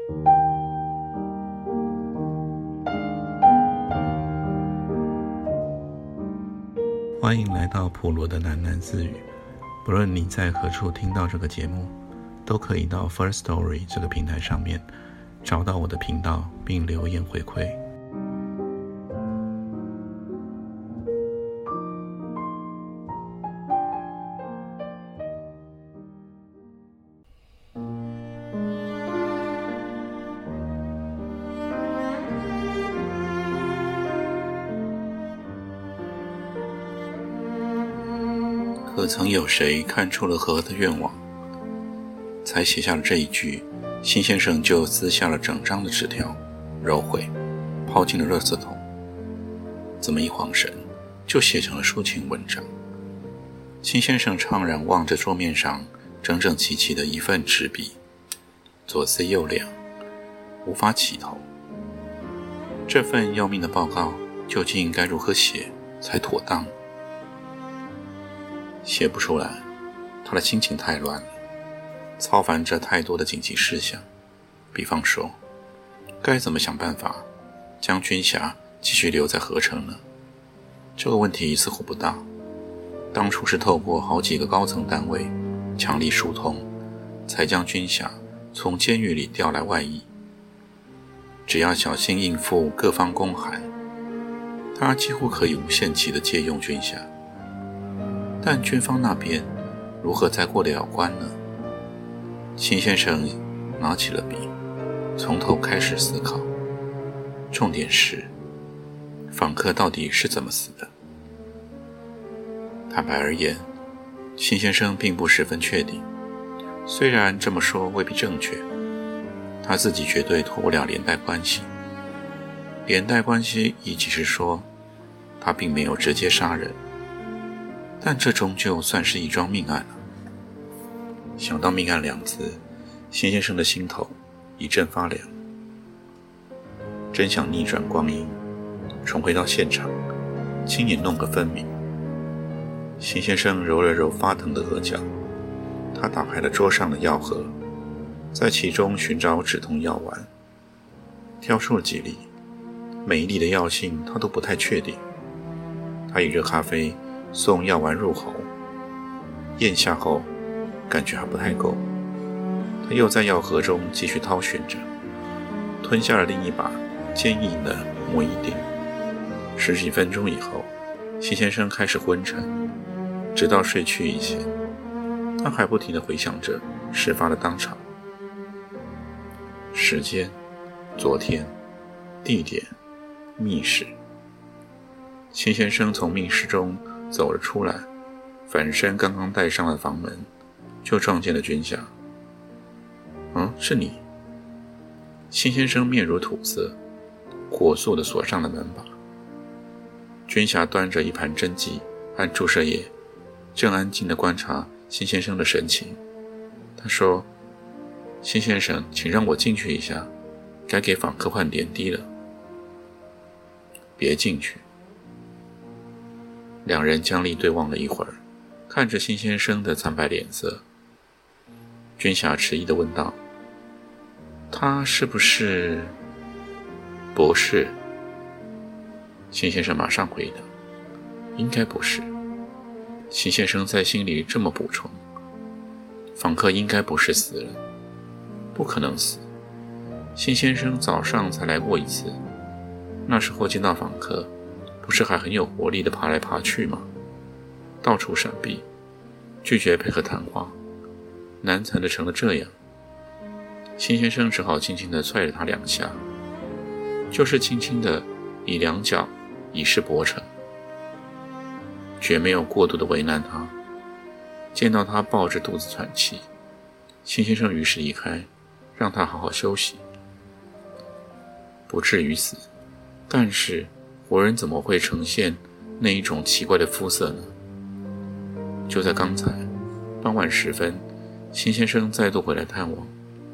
欢迎来到普罗的喃喃自语。不论你在何处听到这个节目，都可以到 First Story 这个平台上面找到我的频道并留言回馈。可曾有谁看出了河的愿望，才写下了这一句，辛先生就撕下了整张的纸条，揉毁，抛进了垃圾桶。这么一晃神，就写成了抒情文章。辛先生怅然望着桌面上整整齐齐的一份纸笔，左思右量，无法起头。这份要命的报告究竟该如何写才妥当？写不出来，他的心情太乱了，操烦着太多的紧急事项。比方说，该怎么想办法将军霞继续留在河城呢？这个问题似乎不大，当初是透过好几个高层单位强力疏通，才将军霞从监狱里调来外役。只要小心应付各方公函，他几乎可以无限期地借用军霞。但军方那边如何才过得了关呢？辛先生拿起了笔，从头开始思考。重点是，访客到底是怎么死的？坦白而言，辛先生并不十分确定，虽然这么说未必正确，他自己绝对脱不了连带关系。连带关系亦即是说，他并没有直接杀人，但这终究算是一桩命案了。想到命案两字，辛先生的心头一阵发凉。真想逆转光阴，重回到现场，亲眼弄个分明。辛先生揉了揉发疼的额角，他打开了桌上的药盒，在其中寻找止痛药丸，挑出了几粒，每一粒的药性他都不太确定。他以热咖啡送药丸入喉，咽下后感觉还不太够，他又在药盒中继续掏寻着，吞下了另一把坚硬的摩一锭。十几分钟以后，辛先生开始昏沉，直到睡去以前，他还不停地回想着事发的当场。时间、昨天、地点、密室。辛先生从密室中走了出来，反身刚刚带上了房门，就撞见了军霞。是你。辛先生面如土色，火速地锁上了门把。军霞端着一盘针剂和注射液，正安静地观察辛先生的神情。他说：辛先生，请让我进去一下，该给访客换点滴了。别进去。两人僵立对望了一会儿，看着辛先生的惨白脸色，军霞迟疑地问道：他是不是？不是。辛先生马上回答：应该不是。辛先生在心里这么补充：访客应该不是死人，不可能死。辛先生早上才来过一次，那时候见到访客不是还很有活力地爬来爬去吗？到处闪避，拒绝配合谈话，难缠的成了这样。辛先生只好轻轻地踹了他两下，就是轻轻地以两脚以示薄诚，绝没有过度的为难他。见到他抱着肚子喘气，辛先生于是离开，让他好好休息。不至于死，但是活人怎么会呈现那一种奇怪的肤色呢？就在刚才傍晚时分，辛先生再度回来探望，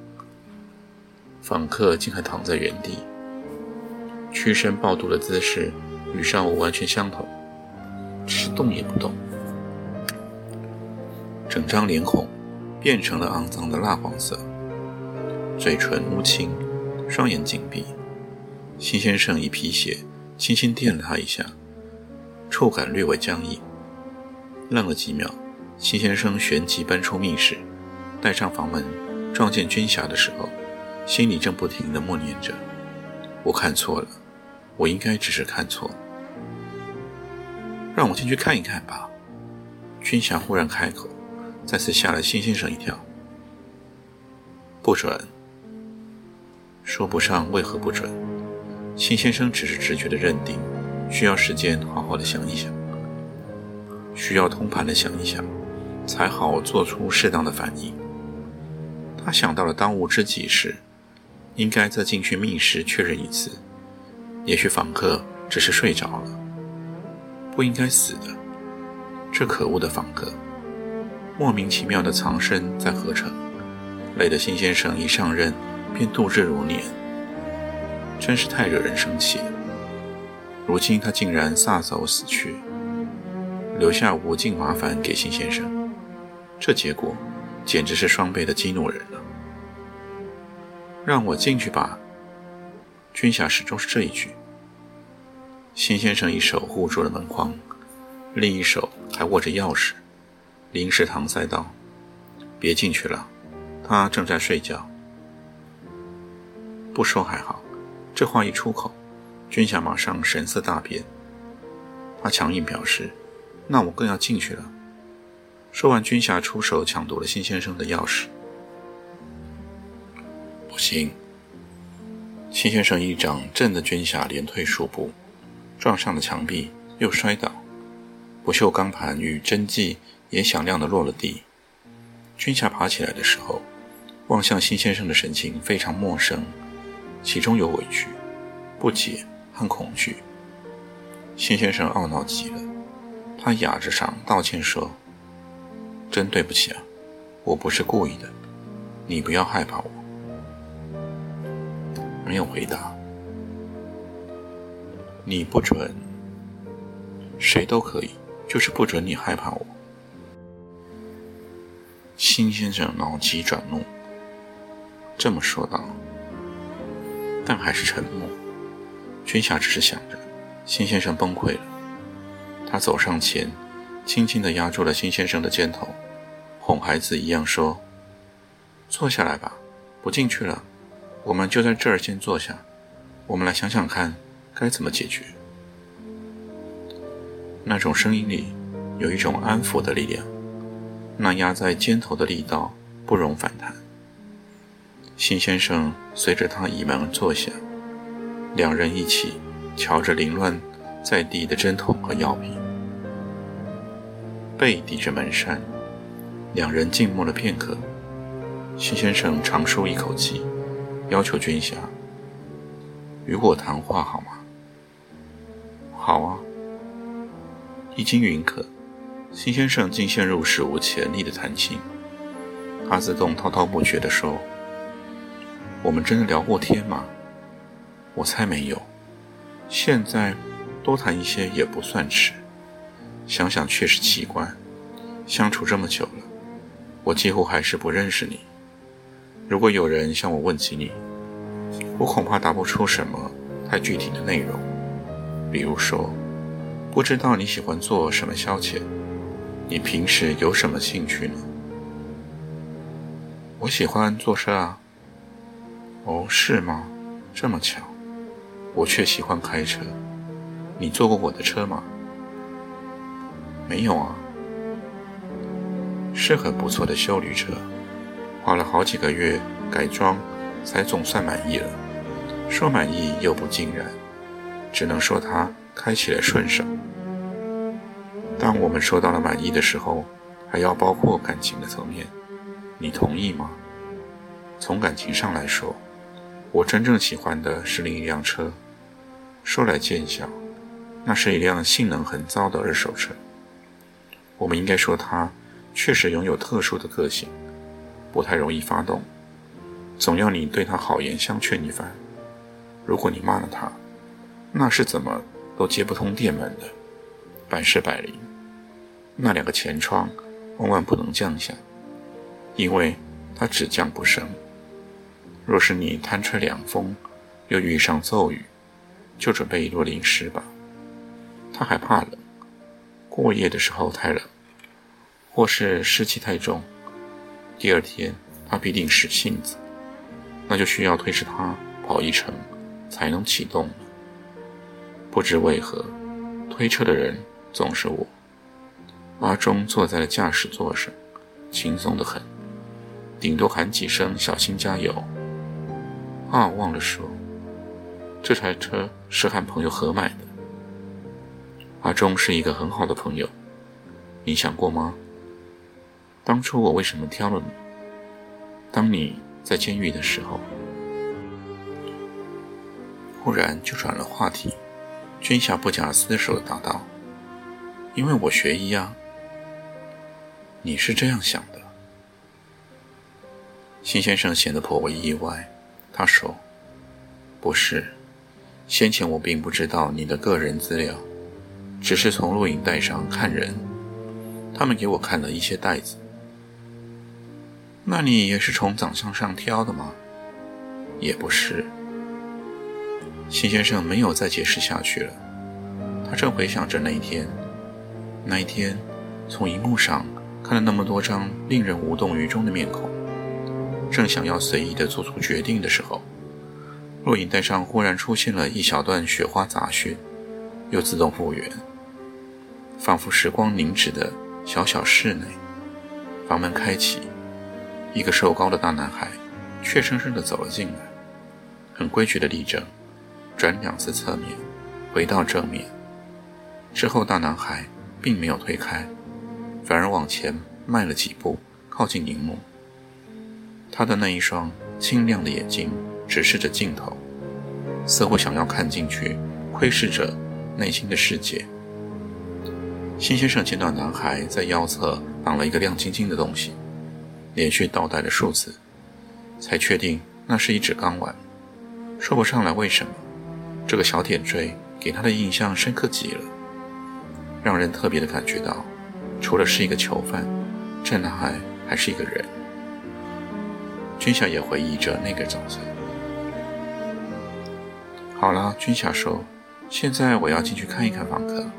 访客竟还躺在原地，屈身抱肚的姿势与上午完全相同，只是动也不动。整张脸孔变成了肮脏的蜡黄色， 嘴唇乌青，双眼紧闭。辛先生以皮鞋轻轻电了他一下，触感略为僵硬。愣了几秒，辛先生旋即奔出密室，带上房门，撞见军霞的时候，心里正不停地默念着：我看错了，我应该只是看错了。让我进去看一看吧。军霞忽然开口，再次吓了辛先生一跳。不准。说不上为何不准，辛先生只是直觉地认定，需要时间好好的想一想，需要通盘的想一想，才好做出适当的反应。他想到了当务之急时，应该再进去密室确认一次，也许访客只是睡着了，不应该死的。这可恶的访客，莫名其妙的藏身在何城，累得辛先生一上任便度日如年，真是太惹人生气了。如今他竟然撒手死去，留下无尽麻烦给辛先生，这结果简直是双倍的激怒人了。让我进去吧。军霞始终是这一句。辛先生一手护住了门框，另一手还握着钥匙，临时搪塞道：别进去了，他正在睡觉。不说还好，这话一出口，军霞马上神色大变。他强硬表示：那我更要进去了。说完，军霞出手抢夺了辛先生的钥匙。不行。辛先生一掌震得军霞连退数步，撞上了墙壁，又摔倒，不锈钢盘与针剂也响亮地落了地。军霞爬起来的时候，望向辛先生的神情非常陌生，其中有委屈、不解和恐惧。辛先生懊恼极了，他哑着嗓道歉说：真对不起啊，我不是故意的，你不要害怕我。没有回答。你不准，谁都可以，就是不准你害怕我。辛先生脑急转怒，这么说道，但还是沉默。军霞只是想着，辛先生崩溃了。他走上前，轻轻地压住了辛先生的肩头，哄孩子一样说：坐下来吧，不进去了，我们就在这儿先坐下，我们来想想看该怎么解决。那种声音里有一种安抚的力量，那压在肩头的力道不容反弹。辛先生随着他倚门坐下，两人一起瞧着凌乱在地的针筒和药品，背抵着门扇，两人静默了片刻。辛先生长舒一口气，要求军霞：与我谈话好吗？好啊。一经允可，辛先生竟陷入史无前例的谈心。他自动滔滔不绝地说：我们真的聊过天吗？我猜没有，现在多谈一些也不算迟。想想确实奇怪，相处这么久了，我几乎还是不认识你。如果有人向我问起你，我恐怕答不出什么太具体的内容。比如说，不知道你喜欢做什么消遣，你平时有什么兴趣呢？我喜欢坐车啊。哦，是吗？这么巧，我却喜欢开车。你坐过我的车吗？没有啊。是很不错的休旅车，花了好几个月改装才总算满意了。说满意又不尽然，只能说它开起来顺手。当我们说到了满意的时候，还要包括感情的层面，你同意吗？从感情上来说，我真正喜欢的是另一辆车。说来见笑，那是一辆性能很糟的二手车。我们应该说它确实拥有特殊的个性，不太容易发动，总要你对它好言相劝一番。如果你骂了它，那是怎么都接不通电门的，百试百灵。那两个前窗万万不能降下，因为它只降不升。 若是你贪吹凉风，又遇上骤雨，就准备一落淋湿吧。他还怕冷，过夜的时候太冷，或是湿气太重，第二天他必定使性子，那就需要推着他跑一程才能启动了。不知为何，推车的人总是我。阿忠坐在了驾驶座上，轻松得很，顶多喊几声小心加油。忘了说，这台车是和朋友合买的。阿忠是一个很好的朋友，你想过吗？当初我为什么挑了你？当你在监狱的时候。忽然就转了话题，军霞不假思索地答道：因为我学医啊。你是这样想的？辛先生显得颇为意外，他说：不是，先前我并不知道你的个人资料，只是从录影带上看人，他们给我看了一些袋子。那你也是从长相上挑的吗？也不是。辛先生没有再解释下去了，他正回想着那一天从荧幕上看了那么多张令人无动于衷的面孔，正想要随意地做出决定的时候，录影带上忽然出现了一小段雪花杂讯，又自动复原，仿佛时光凝止的小小室内，房门开启，一个瘦高的大男孩怯生生地走了进来，很规矩地立正，转2次侧面，回到正面。之后大男孩并没有推开，反而往前迈了几步，靠近荧幕。他的那一双清亮的眼睛直视着镜头，似乎想要看进去窥视着内心的世界。辛先生见到男孩在腰侧绑了一个亮晶晶的东西，连续倒带了数次，才确定那是一只钢丸。说不上来为什么，这个小点缀给他的印象深刻极了，让人特别的感觉到，除了是一个囚犯，这男孩还是一个人。军霞也回忆着那个早晨。好了，军霞说，现在我要进去看一看访客。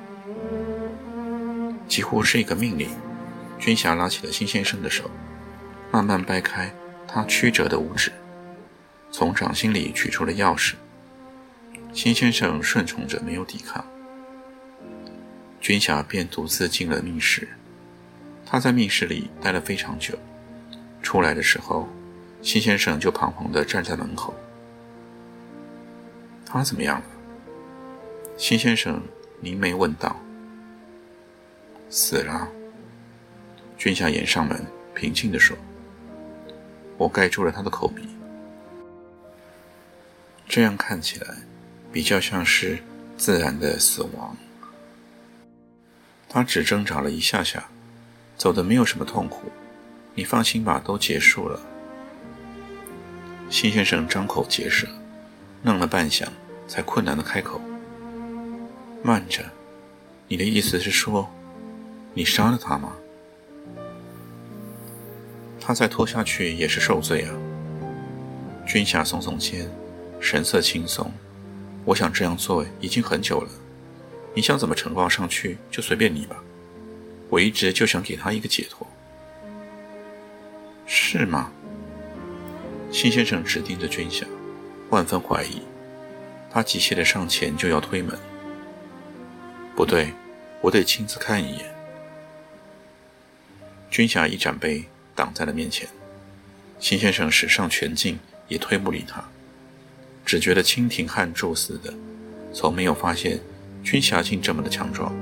几乎是一个命令，军霞拉起了辛先生的手，慢慢掰开他曲折的五指，从掌心里取出了钥匙。辛先生顺从着没有抵抗，军霞便独自进了密室。他在密室里待了非常久，出来的时候，辛先生就彷徨地站在门口。他怎么样了？辛先生凝眉问道。死了。军霞掩上门，平静地说。我盖住了他的口鼻。这样看起来比较像是自然的死亡。他只挣扎了一下下，走得没有什么痛苦，你放心吧，都结束了。辛先生张口结舌，愣了半晌，才困难地开口。慢着，你的意思是说，你杀了他吗？他再拖下去也是受罪啊。军霞耸耸肩，神色轻松。我想这样做已经很久了，你想怎么呈报上去就随便你吧，我一直就想给他一个解脱。是吗？辛先生直盯着军霞，万分怀疑。他急切地上前就要推门。不对，我得亲自看一眼。军霞一展背挡在了面前，辛先生使上全劲也推不理他，只觉得蜻蜓撼柱似的，从没有发现军霞竟这么的强壮。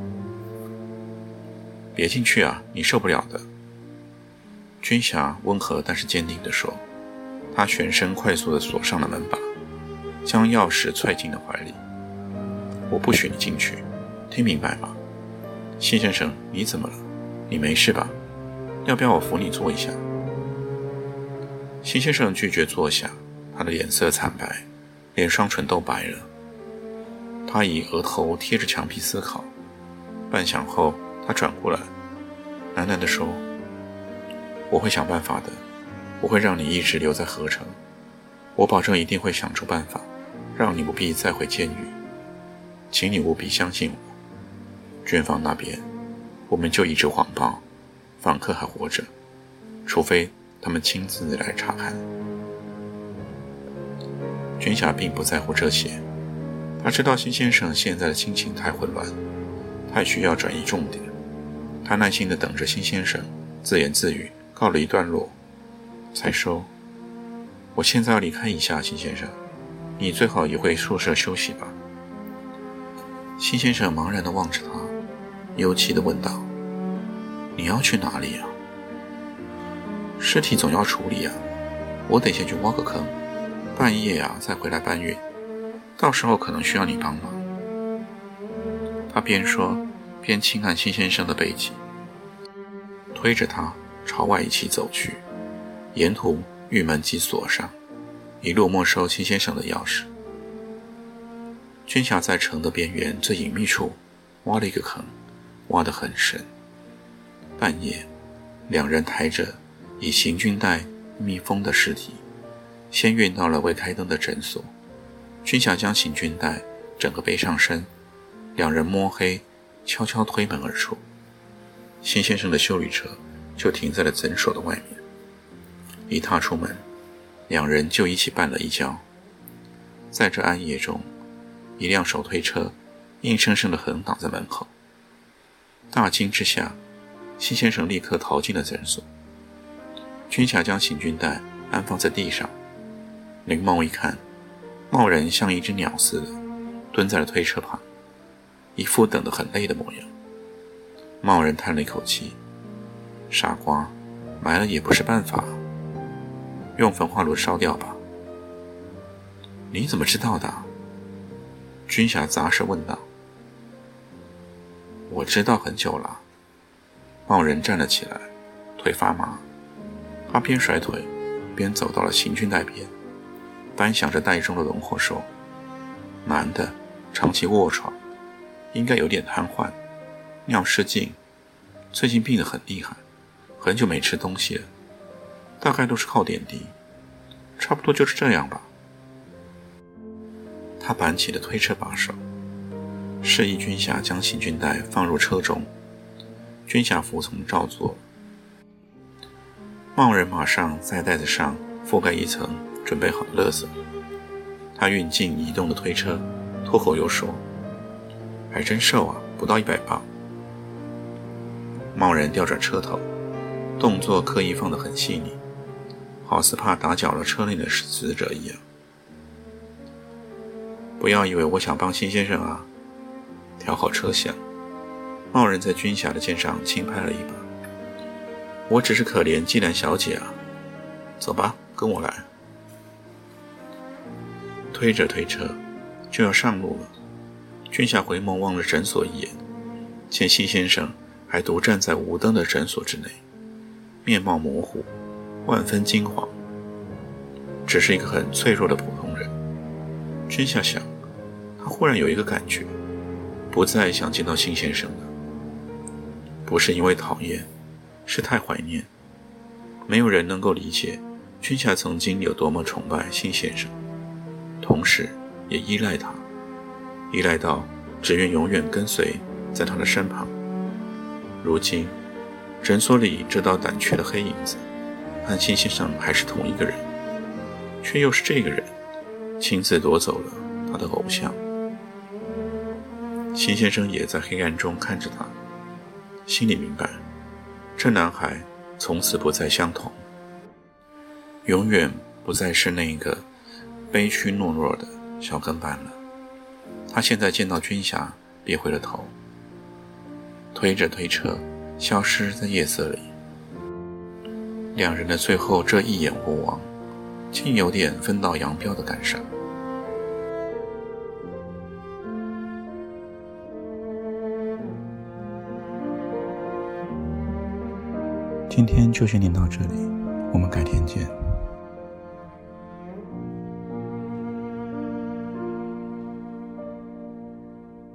别进去啊，你受不了的。军霞温和但是坚定地说。他旋身快速地锁上了门把，将钥匙揣进了怀里。我不许你进去，听明白吗？辛先生，你怎么了？你没事吧？要不要我扶你坐一下？辛先生拒绝坐下，他的脸色惨白，连双唇都白了。他以额头贴着墙壁思考，半晌后他转过来，喃喃地说，我会想办法的，我会让你一直留在河城， 我保证一定会想出办法，让你不必再回监狱。请你务必相信我。军方那边，我们就一直谎报，访客还活着，除非他们亲自来查看。军霞并不在乎这些，他知道辛先生现在的心情太混乱，太需要转移重点。他耐心地等着辛先生自言自语告了一段落，才说：我现在要离开一下，辛先生，你最好也回宿舍休息吧。辛先生茫然地望着他，忧戚地问道：你要去哪里啊？尸体总要处理啊，我得先去挖个坑，半夜啊再回来搬运，到时候可能需要你帮忙。他边说边轻按辛先生的背脊，推着他朝外一起走去，沿途玉门即锁上，一路没收辛先生的钥匙。军霞在城的边缘最隐秘处挖了一个坑，挖得很深。半夜，两人抬着以行军带密封的尸体，先运到了未开灯的诊所。军霞将行军带整个背上身，两人摸黑悄悄推门而出。辛先生的休旅车就停在了诊所的外面。一踏出门，两人就一起绊了一跤。在这暗夜中，一辆手推车硬生生地横挡在门口。大惊之下，辛先生立刻逃进了诊所。军霞将行军带安放在地上，林茂一看，贸然像一只鸟似的蹲在了推车旁，一副等得很累的模样。贸然叹了一口气：傻瓜，埋了也不是办法，用焚化炉烧掉吧。你怎么知道的？军霞杂声问道。我知道很久了。贸然站了起来，腿发麻，他边甩腿边走到了行军带边，端详着袋中的轮廓说：男的，长期卧床，应该有点瘫痪，尿失禁，最近病得很厉害，很久没吃东西了，大概都是靠点滴，差不多就是这样吧。他扳起了推车把手，示意军霞将行军带放入车中。军霞服从照做。贸然马上在袋子上覆盖一层准备好的垃圾。他运进移动的推车，脱口又说：还真瘦啊，不到100磅。贸然调转车头，动作刻意放得很细腻，好似怕打搅了车内的死者一样。不要以为我想帮辛先生啊。调好车厢，贸然在军霞的肩上轻拍了一把。我只是可怜季兰小姐啊，走吧，跟我来。推着推车就要上路了，军霞回眸望了诊所一眼，见辛先生还独站在无灯的诊所之内，面貌模糊，万分惊惶，只是一个很脆弱的普通人。军霞想，他忽然有一个感觉，不再想见到辛先生了。不是因为讨厌，是太怀念。没有人能够理解军霞曾经有多么崇拜辛先生，同时也依赖他，依赖到只愿永远跟随在他的身旁。如今诊所里这道胆怯的黑影子和辛先生还是同一个人，却又是这个人亲自夺走了他的偶像。辛先生也在黑暗中看着他，心里明白，这男孩从此不再相同，永远不再是那个悲屈懦弱的小跟班了。他现在见到军霞，别回了头，推着推车消失在夜色里。两人的最后这一眼无望，竟有点分道扬镳的感伤。今天就先念到这里，我们改天见。